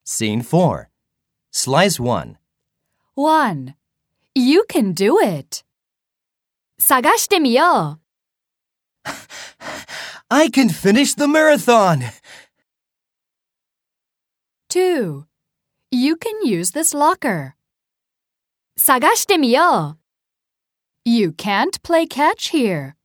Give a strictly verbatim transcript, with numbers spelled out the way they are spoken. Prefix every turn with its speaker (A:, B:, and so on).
A: Scene four. Slice one.
B: one. You can do it. 探してみよう。
A: I can finish the marathon.
B: two. You can use this locker. 探してみよう。You can't play catch here.